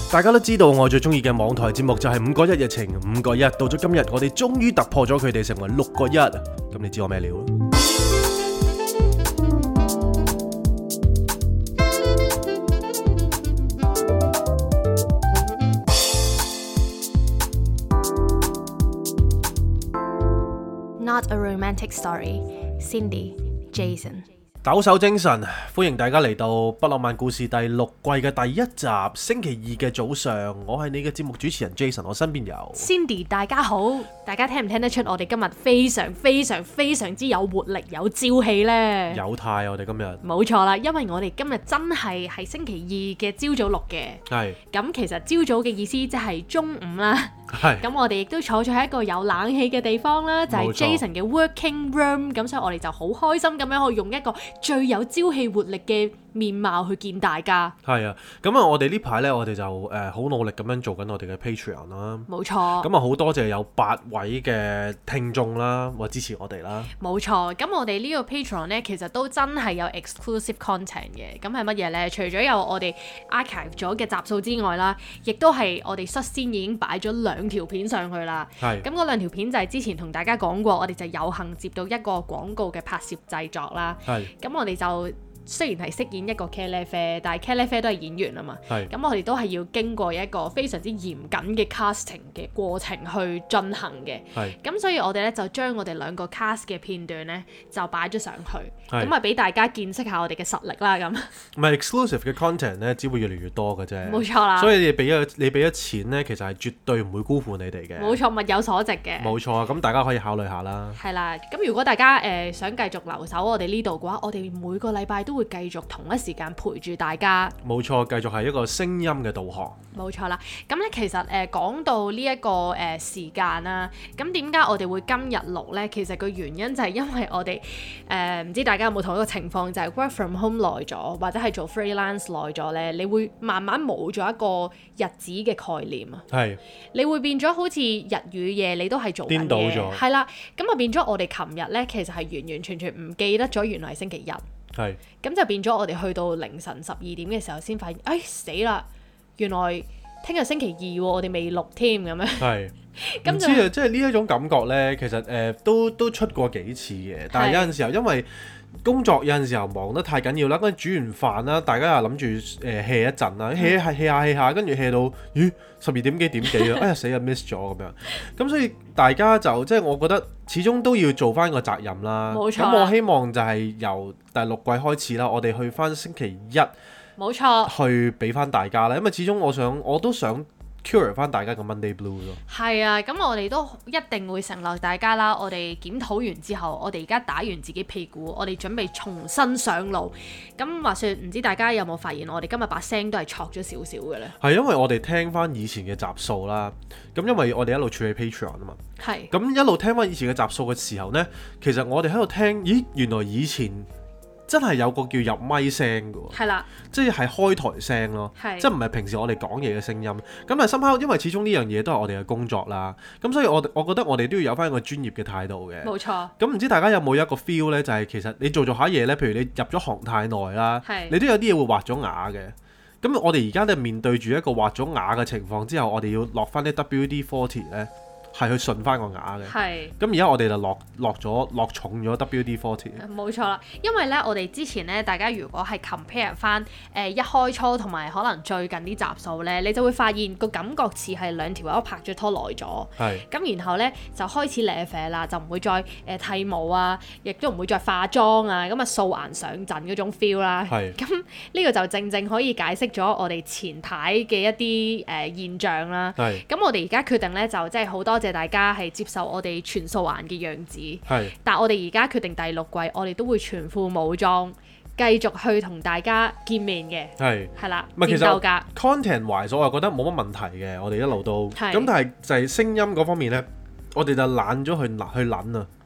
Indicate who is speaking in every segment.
Speaker 1: 大家都知道我最中意嘅網台節目就係5個1日情5個1，到咗今日我哋終於突破咗佢哋成為6個1，咁你知我咩料
Speaker 2: ？Not a romantic story. Cindy, Jason.
Speaker 1: 抖擻精神，歡迎大家嚟到《不浪漫故事》第6季嘅第1集，星期2嘅早上，我係你嘅節目主持人 Jason， 我身邊有
Speaker 2: Cindy， 大家好，大家聽唔聽得出我哋今日非常之有活力、有朝氣呢？
Speaker 1: 有態，我哋今日
Speaker 2: 冇錯啦，因為我哋今日真係星期2嘅朝早錄嘅，係咁其實朝早嘅意思即係中午啦。咁我哋亦都坐咗喺一個有冷氣嘅地方啦，就係 Jason 嘅 working room， 咁所以我哋就好開心咁樣去用一個最有朝氣活力嘅面貌去見大家。係啊，
Speaker 1: 咁啊我哋呢排呢，我哋就好努力咁樣做緊我哋嘅 Patreon 啦。
Speaker 2: 冇錯。咁
Speaker 1: 啊好多謝有8位嘅聽眾啦，或支持我哋啦。
Speaker 2: 冇錯。咁我哋呢個 Patreon 呢，其實都真係有 exclusive content 嘅。咁係乜嘢呢？除咗有我哋 archive 咗嘅集數之外啦，亦都係我哋率先已經擺咗2條片上去啦。係。咁嗰2條片就係之前同大家講過，我哋就有幸接到一個廣告嘅拍攝製作啦。係。咁我哋就雖然係飾演一個茄喱啡，但係茄喱啡都係演員啊嘛。係。咁我哋都係要經過一個非常之嚴謹嘅 casting 嘅過程去進行嘅。係。咁所以我哋咧就將我哋2個 cast 嘅片段咧就擺咗上去，咁啊俾大家見識下我哋嘅實力啦咁。
Speaker 1: 唔係 exclusive 嘅 content 咧，只會越嚟越多嘅啫。
Speaker 2: 冇錯啦。所以
Speaker 1: 你俾咗錢咧，其實係絕對唔會辜負你哋嘅。
Speaker 2: 冇錯，物有所值嘅。
Speaker 1: 冇錯啊，咁大家可以考慮下啦。
Speaker 2: 係啦，咁如果大家想繼續留守我哋呢度嘅話，我哋每個禮拜都會繼續同一時間陪住大家。
Speaker 1: 冇錯，繼續係一個聲音嘅導航。
Speaker 2: 冇錯啦，咁咧其實講到呢一個時間啦，咁點解我哋會今日錄咧？其實個原因就係因為我哋唔知大家有冇同一個情況，就係 work from home 耐咗，或者係做 freelance 耐咗咧，你會慢慢冇咗一個日子嘅概念啊。係。你會變咗好似日與夜你都係做緊嘢。顛倒咗。係啦，咁啊變咗我哋琴日咧，其實係完完全全唔記得咗原來係星期1。係，咁就變咗我哋去到凌晨12點嘅時候先發現，哎死啦！原來聽日星期2喎，我哋未錄添咁樣。係，唔知啊，
Speaker 1: 即係呢一種感覺呢，其實都出過幾次嘅，但係有陣時候因為工作有陣時候忙得太緊要啦，跟住煮完飯啦，大家又諗住hea 一陣啦，hea下，跟住 hea 到12點幾啊，哎呀死啊 miss 咗咁樣，咁所以大家就即係我覺得始終都要做翻個責任啦。冇錯。咁我希望就係由第6季開始啦，我哋去翻星期1，冇錯，去俾翻大家啦，因為始終我都想cure 翻大家個 Monday Blue 咯。係
Speaker 2: 啊，咁我哋都一定會承諾大家啦。我哋檢討完之後，我哋而家打完自己屁股，我哋準備重新上路。咁話說，唔知大家有冇發現我哋今日把聲都係錯咗少少嘅咧？係
Speaker 1: 因為我哋聽翻以前嘅集數啦。咁因為我哋一路處理 Patreon 啊嘛。係。咁一路聽翻以前嘅集數嘅時候呢，其實我哋喺度聽，咦，原來以前真係有個叫入咪聲嘅喎，係啦，即係開台聲咯，即係唔係平時我哋講嘢嘅聲音。咁但係somehow因為始終呢樣嘢都係我哋嘅工作啦，咁所以我覺得我哋都要有翻一個專業嘅態度嘅。冇錯。咁唔知大家有冇一個 feel 呢？就係其實你做下嘢呢，譬如你入咗行太耐啦，你都有啲嘢會畫咗牙嘅。咁我哋而家都係面對住一個畫咗牙嘅情況之後，我哋要落翻啲 WD-40 呢。係去順翻個牙嘅，係。咁而家我哋就落重咗 WD-40。
Speaker 2: 冇錯啦，因為咧我哋之前咧，大家如果係 compare 翻一開初同埋可能最近啲集數咧，你就會發現個感覺似係2條友拍咗拖耐咗。係。咁然後咧就開始舐啡啦，就唔會再剃毛啊，亦都唔會再化妝啊，咁啊素顏上陣嗰種 feel 啦。係。咁呢個就正正可以解釋咗我哋前排嘅一啲現象啦。係。咁我哋而家決定咧就即係好多謝大家係接受我哋全素顏嘅樣子，係。但我哋而家決定第6季，我哋都會全副武裝，繼續去同大家見面嘅，係啦。
Speaker 1: 唔係其實 content wise，我又覺得冇乜問題嘅，我哋一路都咁，但係就係聲音嗰方面咧，我哋就懶咗去撚啊。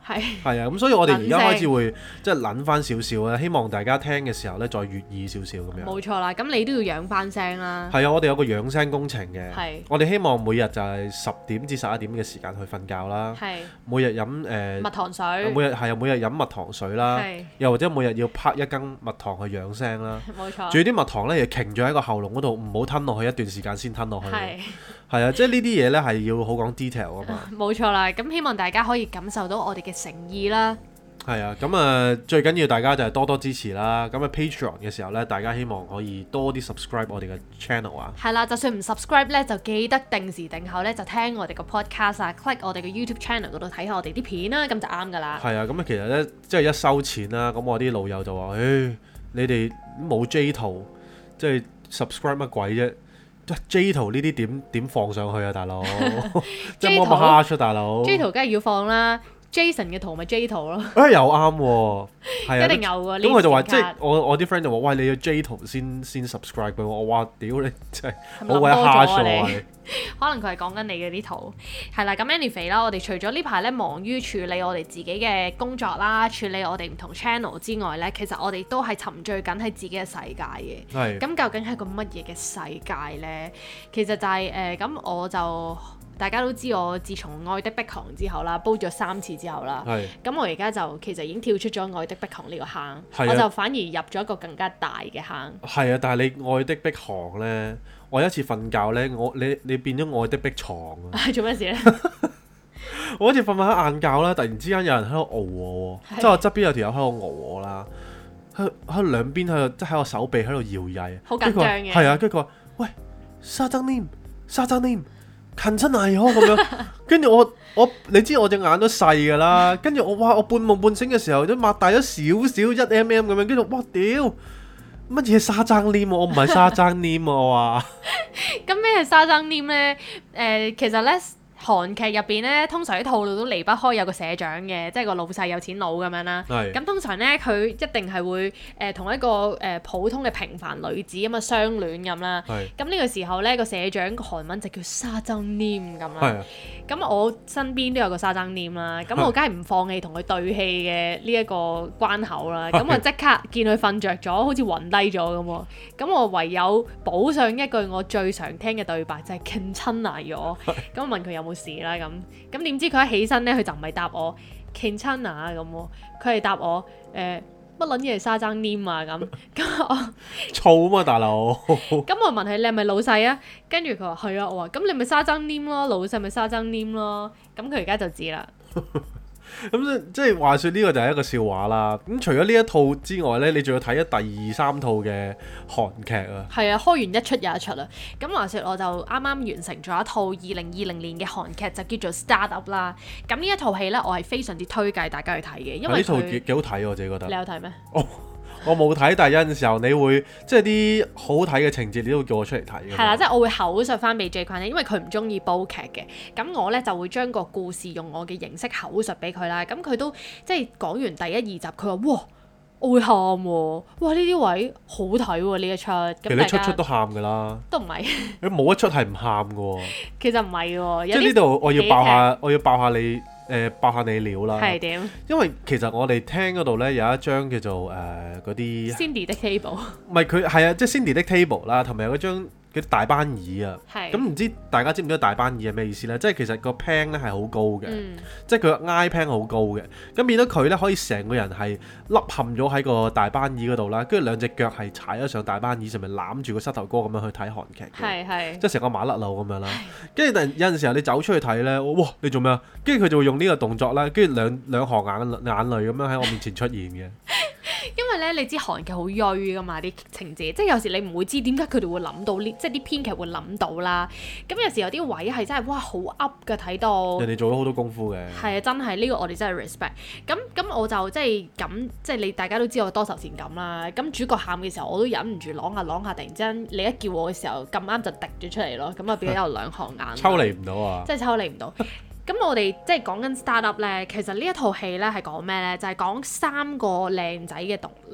Speaker 1: 係啊，咁所以我哋而家開始會即係諗翻少少啦，希望大家聽嘅時候咧再悅耳少少咁樣。
Speaker 2: 冇錯啦，咁你都要養翻聲啦。
Speaker 1: 係啊，我哋有個養聲工程嘅。我哋希望每日就係10點至11點嘅時間去瞓覺啦。每日飲蜜糖水。每日飲蜜糖水啦。又或者每日要拍一羹蜜糖去養聲啦。冇錯。仲要啲蜜糖咧，要停咗喺個喉嚨嗰度，唔好吞落去一段時間先吞落去。係啊，即係呢啲嘢咧係要好講 detail 啊嘛。冇
Speaker 2: 錯啦，咁希望大家可以感受到我哋嘅誠意啦。
Speaker 1: 係啊，咁最緊要大家就係多多支持啦。咁Patreon 嘅時候咧，大家希望可以多啲 subscribe 我哋嘅 channel 啊。
Speaker 2: 係啦，就算唔 subscribe 咧，就記得定時定候咧就聽我哋個 podcast 啊 ，click 我哋嘅 YouTube channel 嗰度睇下我哋啲片啦，咁就啱噶啦。
Speaker 1: 係啊，咁其實咧即係一收錢啦，咁我啲老友就話：你哋冇 J 圖，即係 subscribe 乜鬼啫？J 圖呢啲點放上去啊，大佬！即係冇咁蝦出，大佬。
Speaker 2: J 圖梗係要放啦 ，Jason 嘅圖咪 J 圖咯。
Speaker 1: 又啱喎，係啊，
Speaker 2: 一定有喎。
Speaker 1: 咁佢就話，即係我啲 friend 就話：喂，你要 J 圖先 subscribe 俾我。我話：屌你真係好鬼蝦咗你。
Speaker 2: 可能佢係講緊你嘅啲圖，係啦。咁 anyway 啦，我哋除咗呢排咧忙於處理我哋自己嘅工作啦，處理我哋唔同 channel 之外咧，其實我哋都係沉醉緊喺自己嘅世界嘅。係。咁究竟係個乜嘢嘅世界咧？其實就係咁我就大家都知我自從《愛的迫降》之後啦，煲咗3次之後啦。係。咁我而家就其實已經跳出咗《愛的迫降》呢個坑，我就反而入咗一個更加大嘅坑。係啊，
Speaker 1: 但係你《愛的迫降》咧？我有一次瞓覺咧，你變咗愛的迫床啊！
Speaker 2: 做咩事咧？
Speaker 1: 我好似瞓下晏覺啦，突然之間有人喺度熬我喎，即係我側邊有條友喺度熬我啦，喺兩邊喺度，即係喺我手臂喺度搖曳，
Speaker 2: 好緊張嘅。
Speaker 1: 係啊，跟住佢話：喂，沙僧黏，近親係咁樣。跟住我你知我隻眼都細㗎啦，跟住我半夢半醒嘅時候都擘大咗少少1mm咁樣，跟住哇屌！乜嘢沙僧黏？我唔係沙僧黏啊！我話。
Speaker 2: 咁咩係沙僧黏咧？其實咧。韓劇入邊咧，通常啲套路都離不開有個社長嘅，即係個老細有錢佬咁樣啦。咁通常咧，佢一定係會同一個普通嘅平凡女子咁啊相戀咁啦。咁呢個時候咧，個社長個韓文就叫沙僧黏咁啦。咁我身邊都有個沙僧黏啦，咁我梗係唔放棄同佢對戲嘅呢一個關口啦。咁我即刻見佢瞓着咗，好似暈低咗咁喎。咁我唯有補上一句我最常聽嘅對白，就係勁親嚟咗。咁我問佢有冇事啦，咁點知佢一起身咧，佢就唔係答我 Kinchana 咁喎，佢係答我乜撚嘢係沙僧黏啊咁我
Speaker 1: 燥啊嘛大佬，
Speaker 2: 咁我問佢你係咪老細啊？跟住佢話係啊，我話咁你咪沙僧黏咯，老細咪沙僧黏咯，咁佢而家就知啦。
Speaker 1: 咁即係話說呢個就係一個笑話啦。咁除咗呢一套之外呢，你仲要睇咗第2、3套嘅韓劇啊？係
Speaker 2: 啊，開完一出又一出啦。咁話說我就啱啱完成咗一套2020年嘅韓劇，就叫做 Startup 啦。咁呢一套戲呢，我係非常之推介大家去睇嘅，因為呢套
Speaker 1: 幾好睇，我自己覺得。
Speaker 2: 你有睇咩？
Speaker 1: 我冇睇，但係有陣時候你會即係啲好睇嘅情節，你都會叫我出嚟睇。係
Speaker 2: 啦，即係我會口述翻俾 J 君，因為佢唔中意煲劇嘅。咁我咧就會將個故事用我嘅形式口述俾佢啦。咁佢都即係講完第1、2集，佢話：哇，我會喊喎！哇，呢啲位好睇喎，呢一出。
Speaker 1: 其實你出都喊㗎啦。
Speaker 2: 都唔係。
Speaker 1: 你冇一出係唔喊㗎喎。
Speaker 2: 其實唔係喎。
Speaker 1: 即係呢度我要爆下你。爆下你料啦，
Speaker 2: 係點？
Speaker 1: 因為其實我哋廳嗰度咧有一張叫做嗰啲
Speaker 2: Cindy 的 table，
Speaker 1: 唔係佢係啊，即係 Cindy 的 table 啦，同埋有嗰張嗰啲大班椅啊。咁唔知大家知唔知大班椅係咩意思咧？即係其實個 pan 咧係好高嘅，即係佢個挨 pan 好高嘅。咁變到佢咧可以成個人係凹陷咗喺個大班椅嗰度啦，跟住兩隻腳係踩咗上大班椅上面攬住個膝頭哥咁樣去睇韓劇嘅，即係成個馬甩佬咁樣啦。跟住但有陣時候你走出去睇咧，哇！你做咩啊？跟住佢就會用呢個動作啦，跟住兩行眼淚咁樣喺我面前出現嘅。
Speaker 2: 因為咧，你知韓劇好鋭噶嘛啲情節，即係有時你唔會知點解佢哋會諗到呢，即係啲編劇會諗到啦。咁有時有啲位係真係哇好噏嘅睇到。人
Speaker 1: 哋做咗好多功夫嘅。係
Speaker 2: 啊，真係呢個我哋真係 respect。咁我就即係咁，即係你大家都知我多愁善感啦。咁主角喊嘅時候，我都忍唔住啷下，突然之間你一叫我嘅時候，咁啱就滴咗出嚟咯。咁啊變咗有兩行眼。
Speaker 1: 抽離唔到啊！
Speaker 2: 即係抽離唔到。咁我哋即係講緊 startup 咧，其實呢一套戲咧係講咩咧？就係講3個靚仔嘅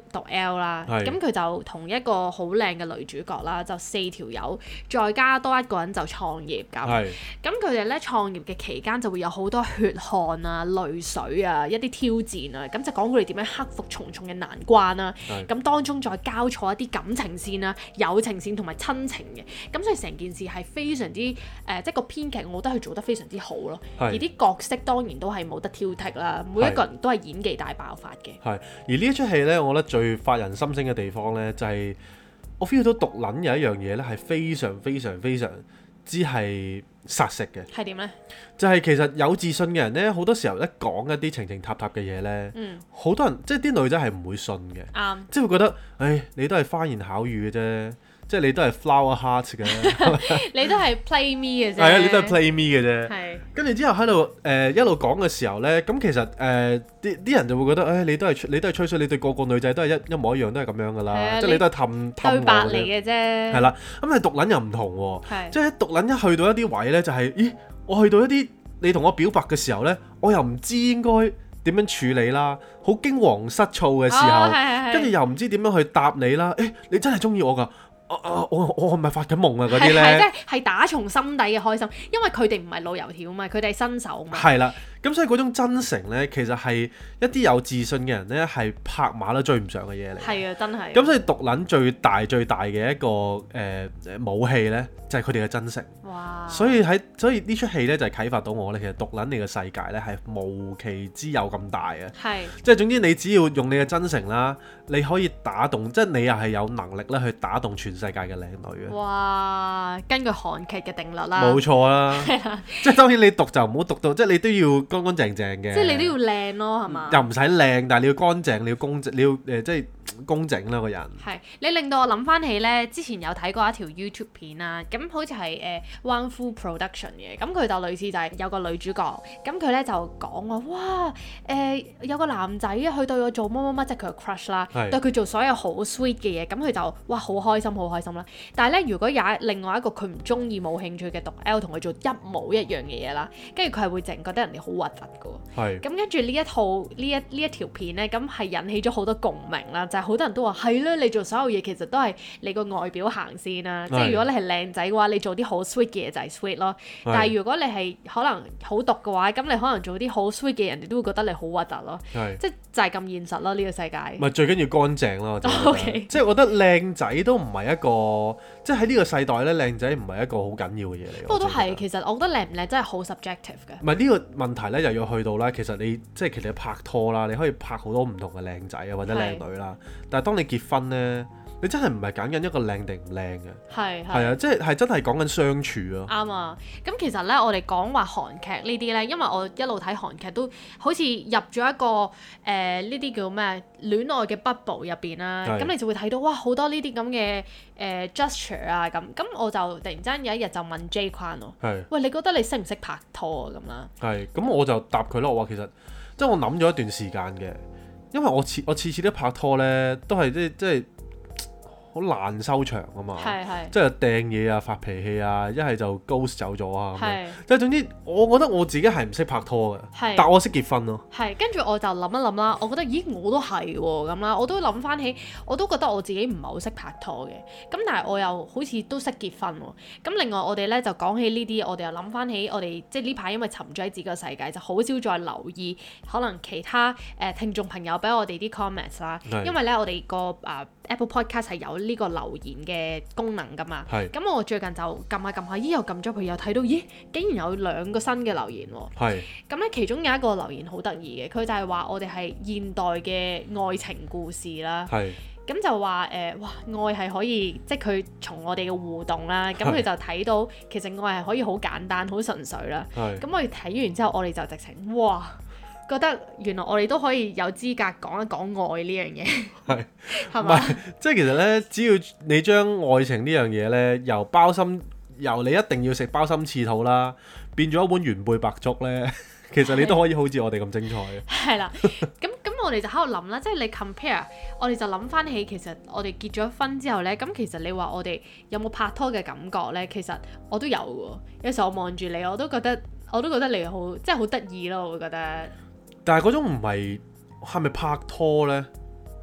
Speaker 2: 讀 L 啦，咁佢就同一個好靚嘅女主角啦，就4條友，再加多一個人就創業咁。咁佢哋咧創業嘅期間就會有好多血汗啊、淚水啊、一啲挑戰啊，咁就講佢哋點樣克服重重嘅難關啦。咁當中再交錯一啲感情線啦、友情線同埋親情嘅，咁所以成件事係非常之即係個編劇，我覺得佢做得非常之好咯。而啲角色當然都係冇得挑剔啦，每一個人都係演技大爆發嘅。係，
Speaker 1: 而呢一出戲咧，我覺得最發人心聲嘅地方咧，就係我 feel 到毒撚有一樣嘢咧，係非常非常非常之係殺食嘅。係點咧？就係其實有自信嘅人咧，好多時候一講一啲情情塔塔嘅嘢咧，好多人即係啲女仔係唔會信嘅，即係會覺得，唉，你都係花言巧語嘅啫。即係你都係 flower heart 嘅，
Speaker 2: 你都係 play me 嘅啫。
Speaker 1: 係啊，你都係 play me 嘅啫。係。跟住之後喺度一路講嘅時候咧，咁其實啲人就會覺得，你都係吹水，你對個個女仔都係一模一樣，都係咁樣噶啦。即係你都係氹
Speaker 2: 對白嚟嘅啫。
Speaker 1: 係啦，咁你毒撚又唔同喎。即係毒撚一去到一啲位咧，就係，咦，我去到一啲你同我表白嘅時候咧，我又唔知應該點樣處理啦，好驚惶失措嘅時候，跟住又唔知點樣去答你啦。你真係中意我㗎？我係咪發緊夢啊？嗰啲咧
Speaker 2: 係打從心底嘅開心，因為佢哋唔係老油條嘛，佢哋係新手嘛。
Speaker 1: 係啦，咁所以嗰種真誠咧，其實係一啲有自信嘅人咧，係拍馬都追唔上嘅嘢嚟。
Speaker 2: 係啊，真係。
Speaker 1: 咁所以毒撚最大嘅一個武器咧，就係佢哋嘅真誠。哇！所以呢出戲咧就係啟發到我咧，其實毒撚你嘅世界咧係無奇之有咁大嘅。係。即係總之你只要用你嘅真誠啦，你可以打動，即係你又係有能力咧去打動全世界嘅靚女嘅。
Speaker 2: 哇！根據韓劇嘅定律啦。
Speaker 1: 冇錯啦。即係當然你毒就唔好毒到，即係你都要乾乾淨淨嘅。
Speaker 2: 即係你都要靚咯，係嘛？
Speaker 1: 又唔使靚，但係你要乾淨，你要公正，你要即係工整啦個人。係，
Speaker 2: 你令到我諗翻起咧，之前有睇過一條 YouTube 片啊，咁好似係One Full Production 嘅，咁佢就類似就係有個女主角，咁佢咧就講話，哇有個男仔佢對我做乜乜乜，即係佢嘅 crush 啦，對佢做所有好 sweet 嘅嘢，咁佢就哇好開心啦。但係咧，如果有另外一個佢唔中意冇興趣嘅毒 L 同佢做一模一樣嘅嘢啦，跟住佢係會淨覺得人哋好核突㗎。係。咁跟住呢一條片咧，咁係引起咗好多共鳴啦，就係好多人都話係啦，你做所有嘢其實都係你個外表行先啦，即係如果你係靚仔嘅話，你做啲好 sweet 嘅嘢就係 sweet 咯。但係如果你係可能好毒嘅話，咁你可能做啲好 sweet 嘅，人哋都會覺得你好核突咯。即係就係咁現實咯，呢個世界。唔係最緊要乾淨咯，即係我覺得靚仔都唔係一個，即係喺呢個世代咧，靚仔唔係一個好緊要嘅嘢嚟。不過都係，其實我覺得靚唔靚真係好 subjective 嘅。唔係呢個問題咧，又要去到啦。其實你即係其實拍拖啦，你可以拍好多唔同嘅靚仔啊，或者靚女啦。但係當你結婚咧，你真係唔係揀緊一個靚定唔靚嘅，係啊，即係真係講緊相處咯。啱啊！咁其實咧，我哋講話韓劇呢啲咧，因為我一路睇韓劇都好似入咗一個呢啲叫咩戀愛嘅 bubble 入邊啦。咁你就會睇到哇好多呢啲咁嘅gesture 啊咁。咁我就突然間有一日就問 J 框咯，喂，你覺得你識唔識拍拖啊咁啦？係，咁我就答佢咯。我話其實即係我諗咗一段時間嘅，因為我次次都拍拖咧，都係即係。好難收場啊嘛，即係掟嘢啊、發脾氣啊，一係就 ghost 走咗啊咁樣。即係總之，我覺得我自己係唔識拍拖嘅，但我識結婚咯。係，跟住我就諗一諗啦，我覺得咦我都係喎咁啦，我都諗翻起，我都覺得我自己唔係好識拍拖嘅。咁但係我又好似都識結婚喎。咁另外我哋咧就講起呢啲，我哋又諗翻起我哋即係呢排因為沉醉喺自己個世界，就好少再留意可能其他聽眾朋友俾我哋啲 comments 啦。因為咧我哋個Apple Podcast 係有呢個留言嘅功能噶嘛，咁我最近就撳下，咦又撳咗佢，又睇到咦竟然有2個新嘅留言喎，咁咧其中有一個留言好得意嘅，佢就係話我哋係現代嘅愛情故事啦，咁就話哇愛係可以，即係佢從我哋嘅互動啦，咁佢就睇到其實愛係可以好簡單、好純粹啦，咁我哋睇完之後，我哋就直情哇〜覺得原來我哋都可以有資格講一講愛呢樣嘢，係嘛？即係其實咧，只要你將愛情呢樣嘢咧，由你一定要食鮑參翅肚啦，變咗一碗原貝白粥咧，其實你都可以好似我哋咁精彩嘅。係啦，咁我哋就喺度諗啦，即係你 compare，我哋就諗翻起其實我哋結咗婚之後咧，咁其實你話我哋有冇拍拖嘅感覺咧？其實我都有喎，有時候我望住你，我都覺得你好，即係好得意咯，我會覺得。但係嗰種唔係咪拍拖呢？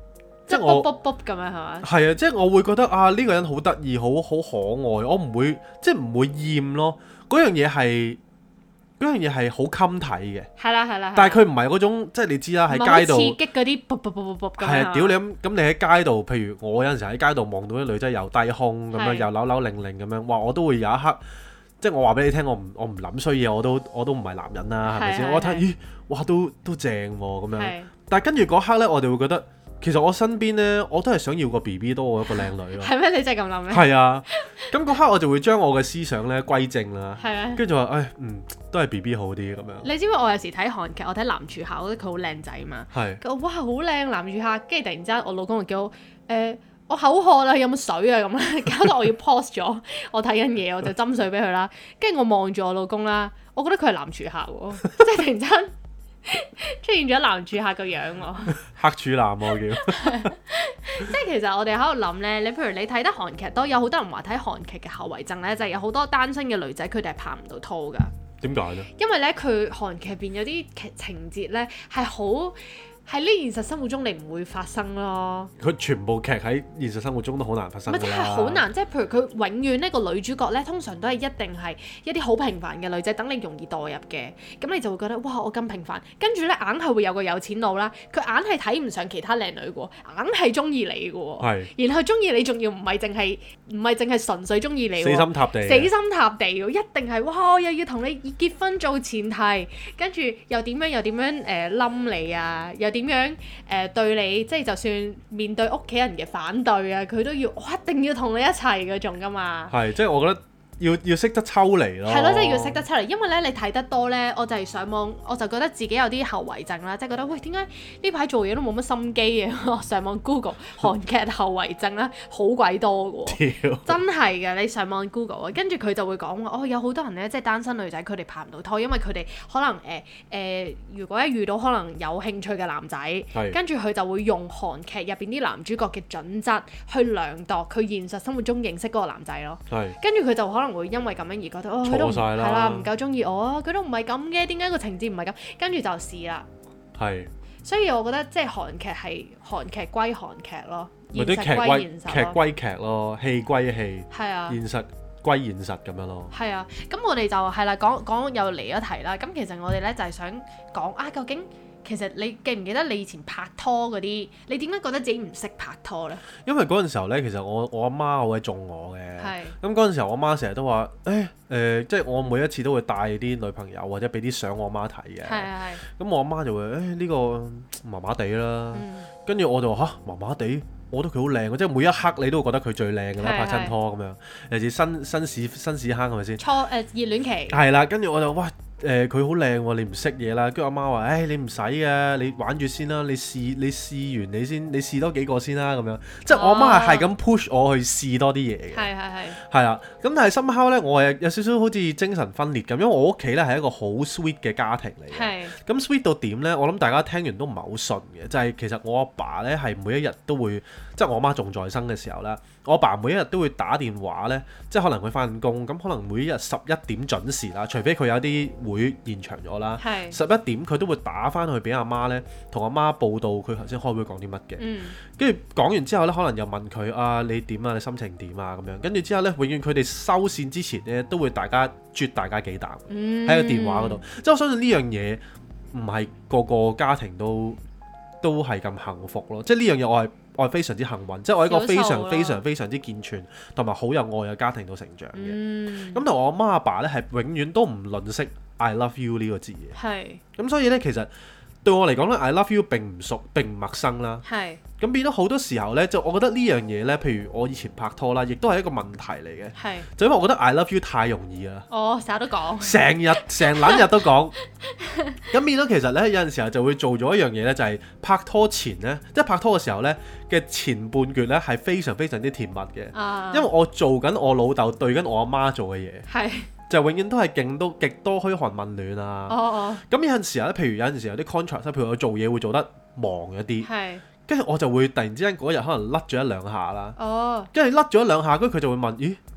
Speaker 2: 即係卜卜卜咁樣係嘛？
Speaker 1: 係啊，即係我會覺得啊呢個人好得意，好可愛，我唔會即係唔會厭咯。嗰樣嘢係好襟睇嘅。係啦。但係佢唔係嗰種即係你知啦，喺街度
Speaker 2: 刺激嗰啲卜卜卜卜咁。
Speaker 1: 係啊，屌你咁你喺街度，譬如我有陣時喺街度望到啲女仔又低胸咁樣，又扭扭擰擰咁樣，哇！我都會有一刻。即係我話俾你聽，我唔諗衰嘢，我都唔係男人啦，係咪先？我睇咦，哇，都正喎咁樣。但係跟住嗰刻咧，我哋會覺得其實我身邊咧，我都係想要個 BB 多過一個靚女咯。
Speaker 2: 係咩？你真係咁諗咩？
Speaker 1: 係啊，咁嗰刻我就會將我嘅思想咧歸正啦。
Speaker 2: 係啊。
Speaker 1: 跟住就話都係 BB 好啲咁樣。
Speaker 2: 你知唔知我有時睇韓劇，我睇男主角，我覺得佢好靚仔嘛。係。佢話哇好靚男主角，跟住突然之間我老公就叫我我口渴啦，有冇水啊咁咧？搞到我要 pause 咗，我睇緊嘢，我就斟水俾佢啦。跟住我望住我老公啦，我覺得佢係男住客喎，即係突然間出現咗男住客個樣喎。
Speaker 1: 黑處男我叫。
Speaker 2: 即係其實我哋喺度諗咧，你譬如你睇得韓劇都有好多人話睇韓劇嘅後遺症咧，就係有好多單身嘅女仔佢哋係拍唔到拖㗎。
Speaker 1: 點解咧？
Speaker 2: 因為咧佢韓劇入邊有啲情節咧係好。喺呢現實生活中你唔會發生咯。佢
Speaker 1: 全部劇喺現實生活中都好難發生㗎啦。咪真係
Speaker 2: 好難，即係譬如佢永遠呢個女主角咧，通常都係一定係一啲好平凡嘅女仔，等你容易代入嘅。咁你就會覺得哇，我咁平凡，跟住咧硬係會有個有錢佬啦，佢硬係睇唔上其他靚女嘅喎，硬係中意你嘅喎。係。然後中意你仲要唔係淨係純粹中意你喎。死心塌地。死心塌地喎，一定係哇，又要同你結婚做前提，跟住又點樣冧你啊，點樣對你，即係就算面對屋企人嘅反對啊，佢都要我一定要同你一齊嗰種㗎嘛。係，
Speaker 1: 即係我覺得要識得抽離咯。
Speaker 2: 係咯，即係要識得抽離，因為咧你睇得多咧，我就係上網，我就覺得自己有啲後遺症啦，即係覺得喂，點解呢排做嘢都冇乜心機嘅？上網 Google 韓劇後遺症啦，好鬼多嘅喎。真係嘅，你上網 Google 啊，跟住佢就會講話，有好多人咧，即係單身女仔，佢哋拍唔到拖，因為佢哋可能如果一遇到可能有興趣嘅男仔，跟住佢就會用韓劇入邊啲男主角嘅準則去量度佢現實生活中認識嗰個男仔咯。跟住佢就可能會因為咁樣而覺得佢都係啦，唔夠中意我啊，佢都唔係咁嘅，點解個情節唔係咁？跟住就試啦。係。所以我覺得即係韓劇係韓劇歸韓劇咯，現實歸現實咯。劇歸劇咯，戲歸戲。係啊。現實歸現實咁樣咯。係啊，咁我哋就係啦，講又離咗題啦。咁其實我哋咧就係想講啊，究竟其實你記唔記得你以前拍拖嗰啲？你點解覺得自己唔識拍拖咧？因為嗰陣時候咧，其實我阿媽好鬼縱我嘅。係。咁嗰陣時候，我媽成日都話：即係我每一次都會帶啲女朋友或者俾啲相我媽睇嘅。係。咁我阿媽就會呢個麻麻地啦。跟住我就話麻麻地，我覺得佢好靚嘅，即係每一刻你都會覺得佢最靚㗎啦，拍親拖咁樣。尤其是新屎坑係咪先？熱戀期。係啦，跟住我就哇！佢好靚喎，你唔識嘢啦。跟住阿媽話：你唔使啊，你玩住先啦，你試完你先，你試多幾個先啦咁樣。即係我阿媽係咁 push 我去試多啲嘢嘅。係啦，咁但係somehow咧，我係有少少好似精神分裂咁，因為我屋企咧係一個好 sweet 嘅家庭嚟嘅。咁 sweet 到點咧？我諗大家聽完都唔係好順嘅，就係其實我阿爸咧係每一日都會，即係我阿媽仲在生嘅時候咧，我阿爸每一日都會打電話咧，即係可能佢返工，咁可能每一日11點準時啦，除非佢有啲會延長咗啦，11點佢都會打翻去俾阿媽咧，同阿媽報道佢頭先開會講啲乜嘅，跟住講完之後咧，可能又問佢啊，你點啊，你心情點啊咁樣，跟住之後咧，永遠佢哋收線之前咧都會啜大家幾啖喺個電話嗰度，即係我相信呢樣嘢唔係個個家庭都係咁幸福咯，即係呢樣嘢我係非常之幸運，即係我喺一個非常非常非常之健全同埋好有愛嘅家庭度成長嘅。咁同我阿媽阿爸咧係永遠都唔吝嗇 I love you 呢個字嘅。係。咁所以咧，其實對我嚟講咧 I love you 並唔熟並唔陌生啦。係。咁變咗好多時候咧，就我覺得呢樣嘢咧，譬如我以前拍拖啦，亦都係一個問題嚟嘅。係。就因為我覺得 I love you 太容易啦。成日都講。成撚日都講。咁變咗其實咧，有陣時候就會做咗一樣嘢咧，就係拍拖前咧，即係拍拖嘅時候咧嘅前半段咧係非常非常之甜蜜嘅。因為我做緊我老豆對緊我阿媽做嘅嘢。係。就永遠都係極多噓寒問暖啊。咁有陣時候咧，譬如有陣時候有啲 contrast，譬如我做嘢會做得忙一啲。係。跟住我就會突然之間嗰日可能甩咗一兩下啦。跟住甩咗一兩下，跟住佢就會問：咦，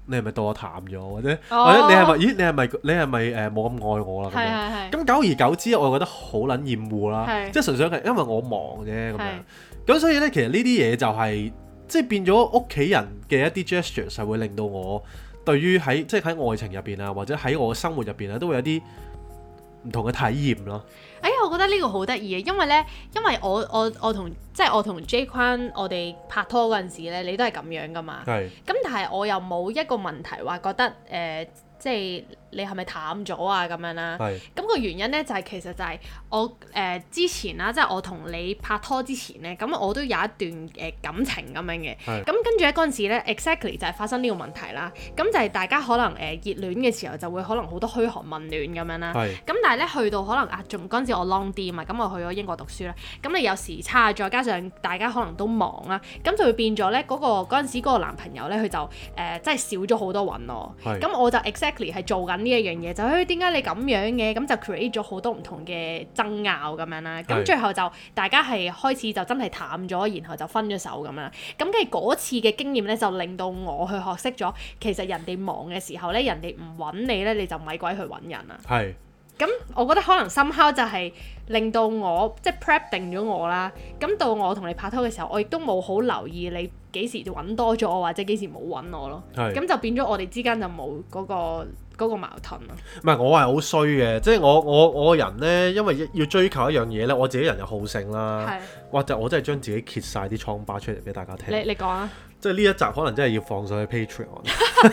Speaker 1: 你係咪對我淡咗，或者你係咪你係咪冇咁愛我啦咁樣？咁久而久之，我覺得好撚厭惡啦，即係純粹係因為我忙啫咁樣。咁所以咧，其實呢啲嘢就係即係變咗屋企人嘅一啲 gestures，係會令到我對於即係喺愛情入邊啊，或者喺我嘅生活入邊啊，都會有啲唔同嘅體驗咯。
Speaker 2: 我覺得呢個好得意嘅，因為我同 J 坤我哋拍拖嗰陣時咧，你都係咁樣噶嘛。咁但係我又冇一個問題話覺得即係你係咪淡咗啊咁樣啦？咁個原因咧就係其實就係我之前啦，即係我同你拍拖之前咧，咁我都有一段感情咁樣嘅。咁跟住咧嗰陣時咧 ，exactly 就係發生呢個問題啦。咁就係大家可能熱戀嘅時候就會可能好多噓寒問暖咁樣啦。咁但係咧去到可能仲嗰陣時我 long 啲啊嘛，咁我去咗英國讀書啦。咁你有時差，再加上大家可能都忙啦，咁就會變咗咧嗰陣時嗰個男朋友咧，佢就真係少咗好多揾我。咁我就 exactly 係做緊呢一樣嘢，就點解你咁樣嘅？咁就 create 咗好多唔同嘅爭拗咁樣啦。咁最後就大家係開始就真係淡咗，然後就分咗手咁樣。咁跟住嗰次嘅經驗咧，就令到我去學識咗，其實人哋忙嘅時候咧，人哋唔揾你咧，你就咪鬼去揾人啊。咁我覺得可能 somehow 就係令到我即係 prep 定咗我啦。咁到我同你拍拖嘅時候，我亦都冇好留意你幾時揾多咗我，或者幾時冇揾我咯。咁就變咗我哋之間就冇嗰個矛盾咯。
Speaker 1: 唔係我係好衰嘅，即係我個人呢，因為要追求一樣嘢呢，我自己人又好勝啦，或者我真係將自己揭晒啲瘡疤出嚟俾大家聽。你講啊！即係呢一集可能真係要放上去 Patreon。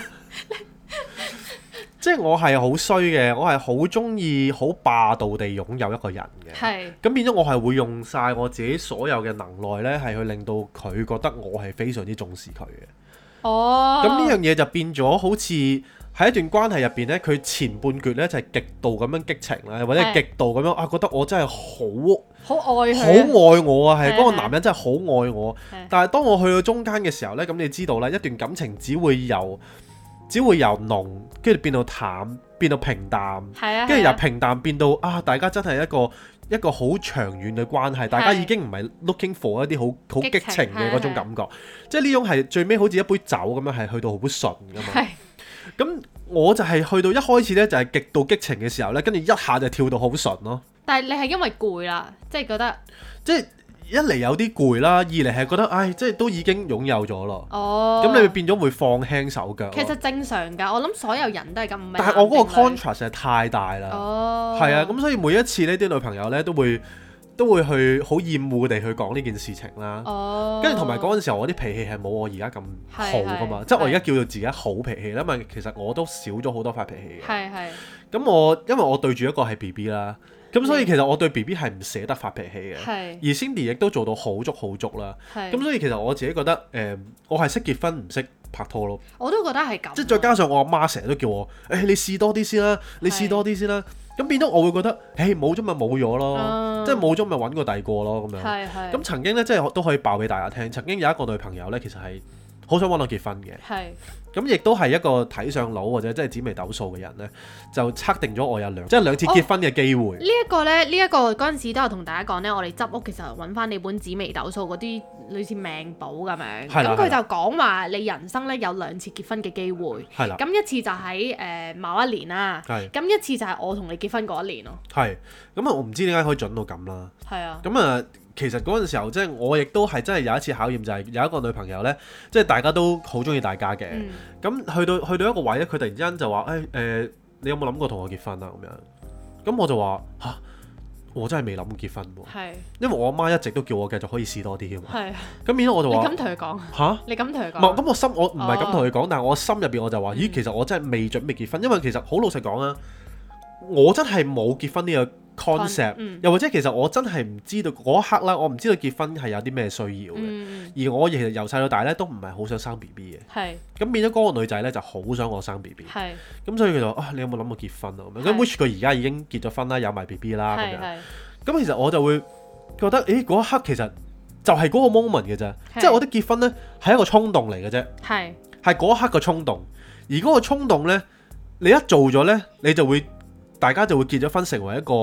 Speaker 1: 即係我係好衰嘅，我係好中意好霸道地擁有一個人嘅。咁變咗我係會用晒我自己所有嘅能耐呢，係去令到佢覺得我係非常之重視佢嘅。咁呢樣嘢就變咗好似喺一段關係入邊呢，佢前半橛呢就係極度咁樣激情啦，或者極度咁樣覺得我真係好愛我啊，係嗰個男人真係好愛我。但係當我去到中間嘅時候呢，咁你知道啦，一段感情只會由濃，跟住變到淡，變到平淡，跟住由平淡變到大家真係一個好長遠嘅關係，大家已經唔係 looking for 一啲好激情嘅嗰種感覺，即係呢種係最尾好似一杯酒咁樣，係去到好順噶嘛。咁我就係去到一開始呢，就係極度激情嘅時候呢，跟住一下就跳到好順咯。但係你係因為攰啦，即係覺得即係。一嚟有啲攰啦，二嚟係覺得即係都已經擁有咗咯。咁你會變咗會放輕手腳。其實正常㗎，我諗所有人都係咁。但係我嗰個 contrast 係太大啦。係啊，咁所以每一次呢啲女朋友呢都會去好厭惡地去講呢件事情啦。跟住同埋嗰陣時候，我啲脾氣係冇我而家咁好㗎嘛。即係我而家叫做自己好脾氣啦，因為其實我都少咗好多發脾氣嘅。咁因為我對住一個係 BB 啦。咁所以其實我對 BB 係唔捨得發脾氣嘅，而 Cindy 亦都做到好足啦。咁所以其實我自己覺得我係識結婚唔識拍拖咯。我都覺得係咁。即係再加上我阿媽成日都叫我你試多啲先啦，你試多啲先啦。咁變咗我會覺得冇咗咪冇咗咯，即係冇咗咪揾個第二個咯咁樣。咁曾經咧即係都可以爆俾大家聽，曾經有一個女朋友咧其實係好想揾我結婚嘅。咁亦都係一個睇上腦或者即係紫微斗數嘅人呢，就測定咗我有兩次結婚嘅機會。呢一個嗰陣時都有同大家講呢，我哋執屋嘅時候揾翻你本紫微斗數嗰啲類似命簿咁樣。咁佢就講話你人生呢有兩次結婚嘅機會。咁一次就喺某一年啦。咁一次就係我同你結婚嗰一年咯。咁我唔知點解可以準到咁啦。咁其實嗰陣時候，即係我亦都係真係有一次考驗，就係有一個女朋友呢，即係大家都好中意大家嘅。咁去到一個位咧，佢突然之間就話：你有冇諗過同我結婚啊？咁樣。咁我就話嚇，我真係未諗過結婚喎。因為我阿媽一直都叫我繼續可以試多啲嘅嘛。咁變咗我就話：你咁同佢講嚇？你咁同佢講？唔係，咁我唔係咁同佢講，但係我心入邊我就話：咦，其實我真係未準備結婚，因為其實好老實講啊，我真係冇結婚呢個concept，又或者其實我真係唔知道嗰一刻啦，我唔知道結婚係有啲咩需要嘅，而我其實由細到大咧都唔係好想生 BB 嘅，咁變咗嗰個女仔咧就好想我生 BB，咁所以佢就話你有冇諗過結婚啊？咁 which 佢而家已經結咗婚啦，有埋 BB 啦咁樣，咁其實我就會覺得嗰一刻其實就係嗰個 moment 嘅啫，即係我覺得結婚咧係一個衝動嚟嘅啫，係嗰一刻嘅衝動，而嗰個衝動咧你一做咗咧，你就會大家就會結咗婚，成為一個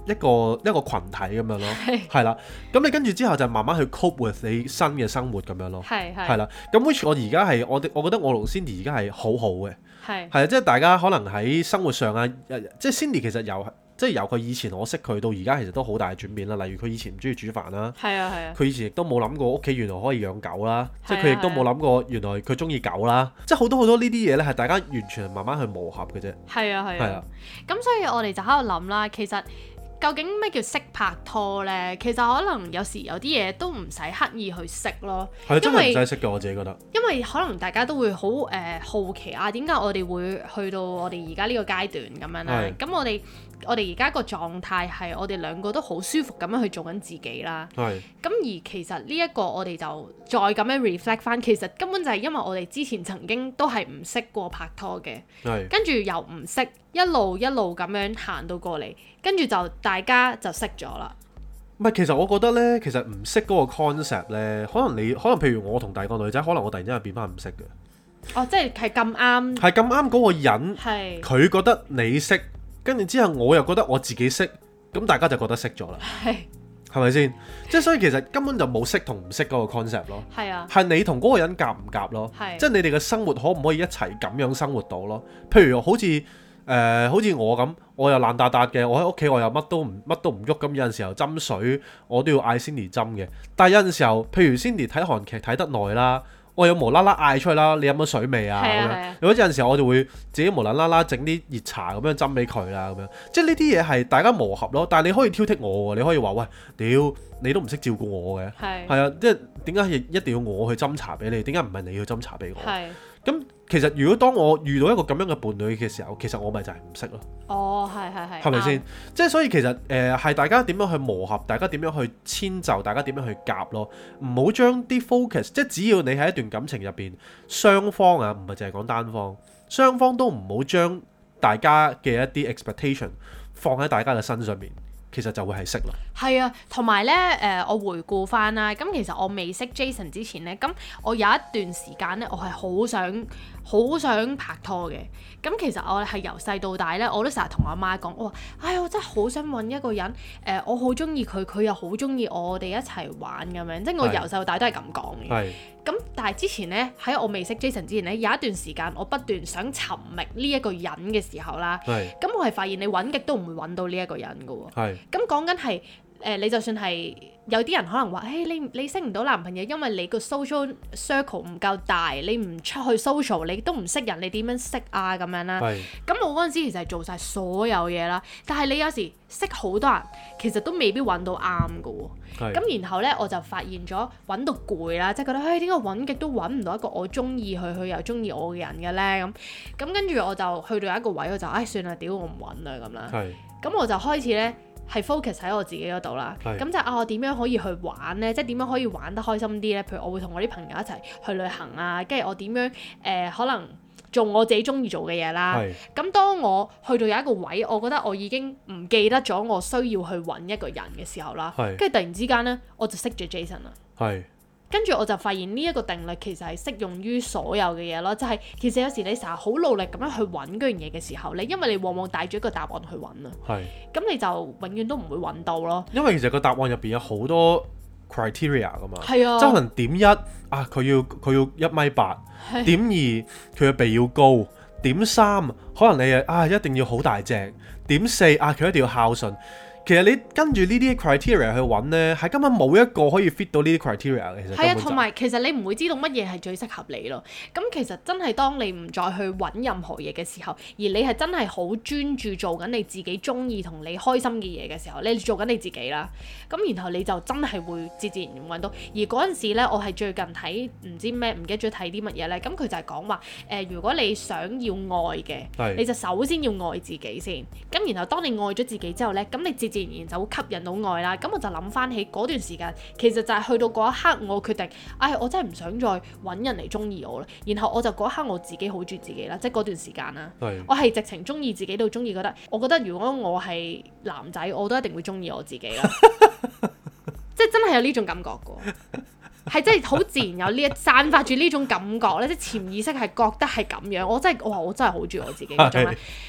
Speaker 1: 一個羣體咁樣咯，係啦。咁你跟住之後就慢慢去 cope with 你新嘅生活咁樣咯，係啦。咁 which 我而家係我覺得我同 Cindy 而家係好好嘅，係啊，即係大家可能喺生活上啊，即係 Cindy 其實由佢以前我識佢到而家，其實都好大嘅轉變啦。例如佢以前唔中意煮飯啦，佢以前亦都冇諗過屋企原來可以養狗啦，即係佢亦都冇諗過原來佢中意狗啦，即係好多呢啲嘢咧係大家完全慢慢去磨合嘅啫。係啊，
Speaker 2: 咁所以我哋就喺度諗啦，其實究竟咩叫識拍拖呢？其實可能有時有啲嘢都唔使刻意去識咯，
Speaker 1: 係真係唔使識嘅，我自己覺得。
Speaker 2: 因為可能大家都會好好奇啊，點解我哋會去到我哋而家呢個階段咁樣啦？咁我哋而家個狀態係我哋兩個都好舒服咁樣去做緊自己啦。咁而其實呢一個我哋就再咁樣 reflect 翻，其實根本就係因為我哋之前曾經都係唔識過拍拖嘅，跟住又唔識一路咁樣行到過嚟，跟住就大家就識咗啦。
Speaker 1: 唔係，其實我覺得呢，其實唔識嗰個 concept 呢，可能譬如我同第二個女仔，可能我突然之間變翻唔識嘅。
Speaker 2: 哦，即係咁啱。係
Speaker 1: 咁啱嗰個人，佢覺得你識。跟住之後，我又覺得我自己識，咁大家就覺得識咗啦，係咪先？即係所以其實根本就冇識同唔識嗰個 concept 咯，係你同嗰個人夾唔夾咯，即係你哋嘅生活可唔可以一齊咁樣生活到咯？譬如好似我咁，我又爛達達嘅，我喺屋企我又乜都唔喐，咁有陣時候斟水我都要嗌 Cindy 斟嘅，但係有陣時候，譬如 Cindy 睇韓劇睇得耐啦。我有無啦啦嗌出去啦，你飲咗水未啊？咁樣，有陣時候我就會自己無啦啦整啲熱茶咁樣斟俾佢啦，咁樣，即係呢啲嘢係大家磨合咯。但係你可以挑剔我喎，你可以話喂，屌你都唔識照顧我嘅，係啊，即係點解一定要我去斟茶俾你？點解唔係你去斟茶俾我？咁其實如果當我遇到一個咁樣嘅伴侶嘅時候，其實我咪就係唔識咯。哦，係咪先？即係所以其實係大家點樣去磨合，大家點樣去遷就，大家點樣去夾咯。唔好將啲 focus，即係只要你喺一段感情入邊，雙方啊，唔係淨係講單方，雙方都唔好將大家嘅一啲 expectation 放喺大家嘅身上面。其實就會係識咯。
Speaker 2: 係啊，同埋咧我回顧翻啦，咁其實我未識 Jason 之前咧，咁我有一段時間咧，我係好想拍拖嘅。咁其實我係由細到大咧，我都成日同阿媽講，我話：我真係好想揾一個人，我好中意佢，佢又好中意我哋一齊玩咁樣。即係我由細到大都係咁講嘅。咁但係之前咧，喺我未識 Jason 之前咧，有一段時間我不斷想尋覓呢一個人嘅時候啦，咁我係發現你揾極都唔會揾到呢一個人㗎喎。咁講緊係你就算係有啲人可能話，你識唔到男朋友，因為你個 social circle 唔夠大，你唔出去 social，你都唔識人，你點樣識啊咁樣啦？咁我嗰陣時其實係做晒所有嘢啦，但係你有時識好多人，其實都未必揾到啱㗎喎。咁然後咧，我就發現咗揾到攰啦，即係覺得點解揾極都揾唔到一個我中意佢又中意我嘅人嘅咧？咁跟住我就去到一個位，我就算啦，屌我唔揾啦咁啦。咁我就開始咧係 focus 喺我自己嗰度啦。咁就我點樣可以去玩咧？即係點樣可以玩得開心啲咧？譬如我會同我啲朋友一齊去旅行啊，跟住我點樣可能做我自己中意做嘅嘢啦。咁當我去到有一個位，我覺得我已經唔記得咗我需要去揾一個人嘅時候啦。跟住突然之間咧，我就識咗 Jason 啦。跟住我就發現呢一個定律其實係適用於所有嘅嘢咯，就係其實有時你成日好努力咁樣去揾嗰樣嘢嘅時候，因為你往往帶住一個答案去揾啊。咁你就永遠都唔會揾到咯。因為其實個答案入邊有好多 criteria 噶嘛。即係可能點一佢要1.8米，點二佢嘅鼻要高，點三可能你一定要好大隻，點四佢一定要孝順。其實你跟住呢啲 criteria 去揾呢，係根本冇一個可以 fit 到呢啲 criteria 嘅。其實係啊，同埋其實你唔會知道乜嘢係最適合你咯。咁其實真係當你唔再去揾任何嘢嘅時候，而你係真係好專注做緊你自己中意同你開心嘅嘢嘅時候，你做緊你自己啦。咁然後你就真係會自然揾到。而嗰陣時呢，我係最近睇唔知咩，唔記得咗睇啲乜嘢呢。咁佢就係講話如果你想要愛嘅，你就首先要愛自己先。咁然後當你愛咗自己之後呢，咁你自然就會吸引到愛啦。咁我就諗翻起嗰段時間，其實就係去到嗰一刻，我決定，我真係唔想再揾人嚟中意我啦。然後我就嗰一刻我自己好中意自己啦，即係嗰段時間啦。我係直情中意自己到中意，我覺得如果我係男仔，我都一定會中意我自己啦。即係真係有呢種感覺噶，係真係好自然有散發住呢種感覺咧，即係潛意識係覺得係咁樣。我真係好中意我自己嗰種咧。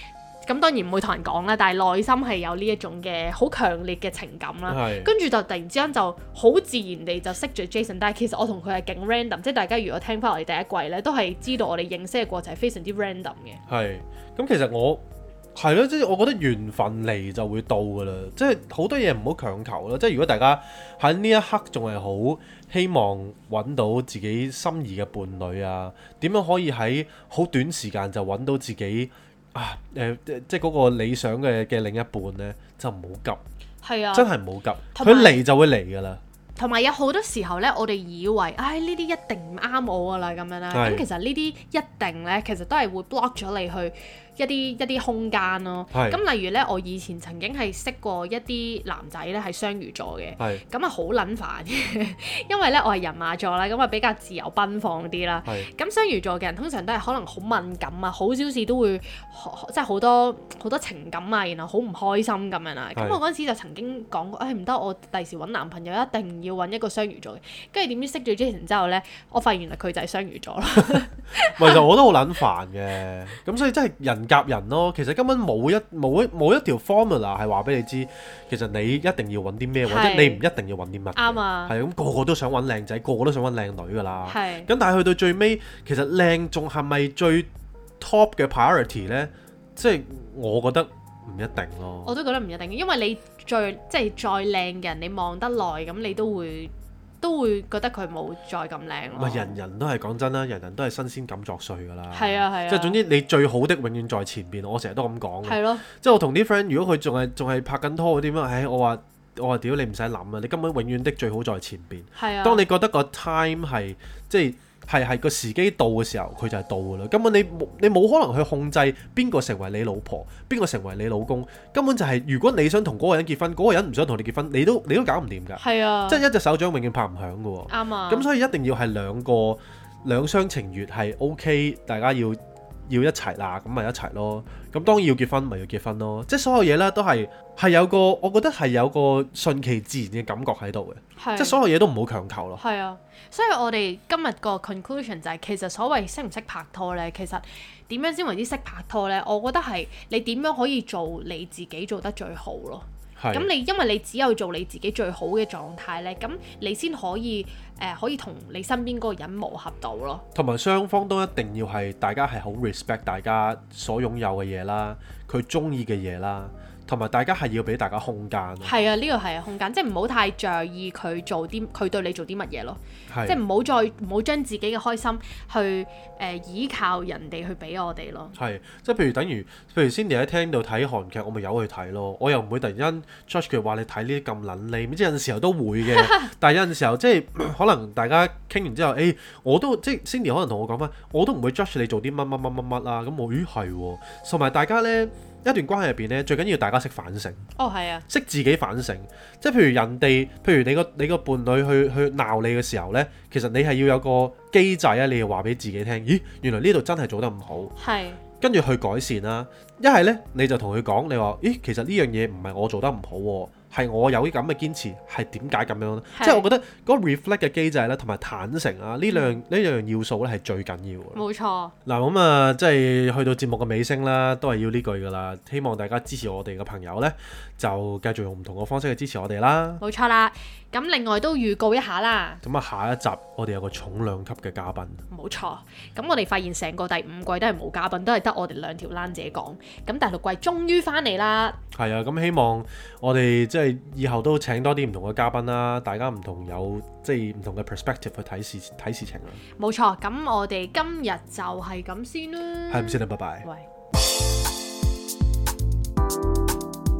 Speaker 2: 咁當然唔會同人講啦，但係內心係有呢一種嘅好強烈嘅情感啦。跟住就突然之間就好自然地就識咗 Jason， 但係其實我同佢係勁 random，即係大家如果聽翻我哋第一季咧，都係知道我哋認識嘅過程係非常之 random 嘅。
Speaker 1: 係，咁其實我係咯，即係我覺得緣分嚟就會到㗎啦，即係好多嘢唔好強求啦。即係如果大家喺呢一刻仲係好希望揾到自己心儀嘅伴侶啊，點樣可以喺好短時間就揾到自己即係嗰個理想嘅另一半呢，就唔好急。係啊，真係唔好急，佢嚟就會嚟㗎啦。
Speaker 2: 同埋有好多時候呢，我哋以為呢啲一定唔啱我㗎啦咁樣啦，咁其實呢啲一定呢，其實都係會 block 咗你去一啲空間咯。咁例如呢，我以前曾經係識過一啲男仔呢係雙魚座嘅，咁啊好撚煩嘅，因為呢我係人馬座啦，咁啊比較自由奔放啲啦。咁雙魚座嘅人通常都係可能好敏感啊，好小事都會即係好多情感啊，然後好唔開心咁樣啦。咁我嗰陣時就曾經講過，唔得，我第時揾男朋友一定要揾一個雙魚座嘅。跟住點知識咗 Jason 之後呢，我發現原來佢就係雙魚座啦。
Speaker 1: 其實我都好撚煩嘅，咁所以真係人夾人咯。其實根本冇一條 formula 係話俾你知，其實你一定要揾啲咩，或者你唔一定要揾啲乜。啱啊。係咁，個個都想揾靚仔，個個都想揾靚女㗎啦。咁但係去到最尾，其實靚仲係咪最 top 嘅 priority 呢？即係我覺得唔一定咯。
Speaker 2: 我都覺得唔一定，因為你即係再靚嘅人，你望得耐咁，你都會覺得佢冇再咁靚咯。唔係
Speaker 1: 人人都係講真啦，人人都係新鮮感作祟㗎啦。
Speaker 2: 係啊。
Speaker 1: 即係總之你最好的永遠在前邊，我成日都咁講。
Speaker 2: 係咯。
Speaker 1: 即係我同啲 friend，如果佢仲係拍緊拖嗰啲咁，我話屌你唔使諗啊！你根本永遠的最好在前邊。係啊。當你覺得個 time 係即係個時機到嘅時候，佢就係到㗎啦。根本你冇可能去控制邊個成為你老婆，邊個成為你老公。根本就係如果你想同嗰個人結婚，嗰個人唔想同你結婚，你都搞唔掂㗎。係啊。即係一隻手掌永遠拍唔響㗎喎。啱啊。咁所以一定要係兩廂情願係 OK，大家要一齊啦，咁咪一齊咯。咁當然要結婚咪要結婚咯。即係所有嘢咧都係有個，我覺得係有個順其自然嘅感覺喺度嘅。即係所有嘢都唔好強求咯。係啊。
Speaker 2: 所以我哋今日個 conclusion 就係，其實所謂識唔識拍拖呢，其實點樣先為之識拍拖呢？我覺得係你點樣可以做你自己做得最好咯。咁因為你只有做你自己最好嘅狀態呢，咁你先可以同你身邊嗰個人磨合到咯。同埋雙方都一定要係大家係好 respect 大家所擁有嘅嘢啦，佢中意嘅嘢啦。同埋大家係要俾大家空間。係啊，呢個係空間，即係唔好太在意佢對你做啲乜嘢咯。即係唔好將自己嘅開心去依靠人哋去俾我哋咯。係，即係譬如 Cindy 喺聽到睇韓劇，我咪由佢睇咯。我又唔會突然間 judge 佢話你睇呢啲咁撚你，咁即係有陣時候都會嘅。但係有陣時候即係可能大家傾完之後，我都即係 Cindy 可能同我講翻，我都唔會 judge 你做啲乜啊。咁我係喎，同埋大家呢。一段關係入邊咧，最緊要大家識反省。係啊，識自己反省。即係譬如你個伴侶去鬧你嘅時候咧，其實你係要有個機制啊，你要話俾自己聽，咦，原來呢度真係做得唔好。係。跟住去改善啦。一係咧，你就同佢講，你話，咦，其實呢樣嘢唔係我做得唔好喎。係我有啲咁嘅堅持，係點解咁樣咧？即係我覺得嗰個 reflect 嘅機制咧，同埋坦誠啊，呢兩要素咧係最緊要嘅。冇錯。嗱咁啊，即係去到節目嘅尾聲啦，都係要呢句噶啦。希望大家支持我哋嘅朋友咧，就繼續用唔同嘅方式去支持我哋啦。冇錯啦。咁另外都預告一下啦。咁啊，下一集我哋有個重量級嘅嘉賓。冇錯。咁我哋發現成個第5季都係冇嘉賓，都係得我哋2條欄姐講。咁第6季終於翻嚟啦。係啊，咁希望我哋即係以後都請多啲唔同嘅嘉賓啦，大家唔同有即係唔同嘅 perspective 去睇事情啦。冇錯，咁我哋今日就係咁先啦。係咁先啦，拜拜。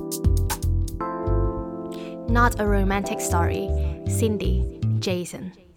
Speaker 2: 喂。Not a romantic story. Cindy, Jason.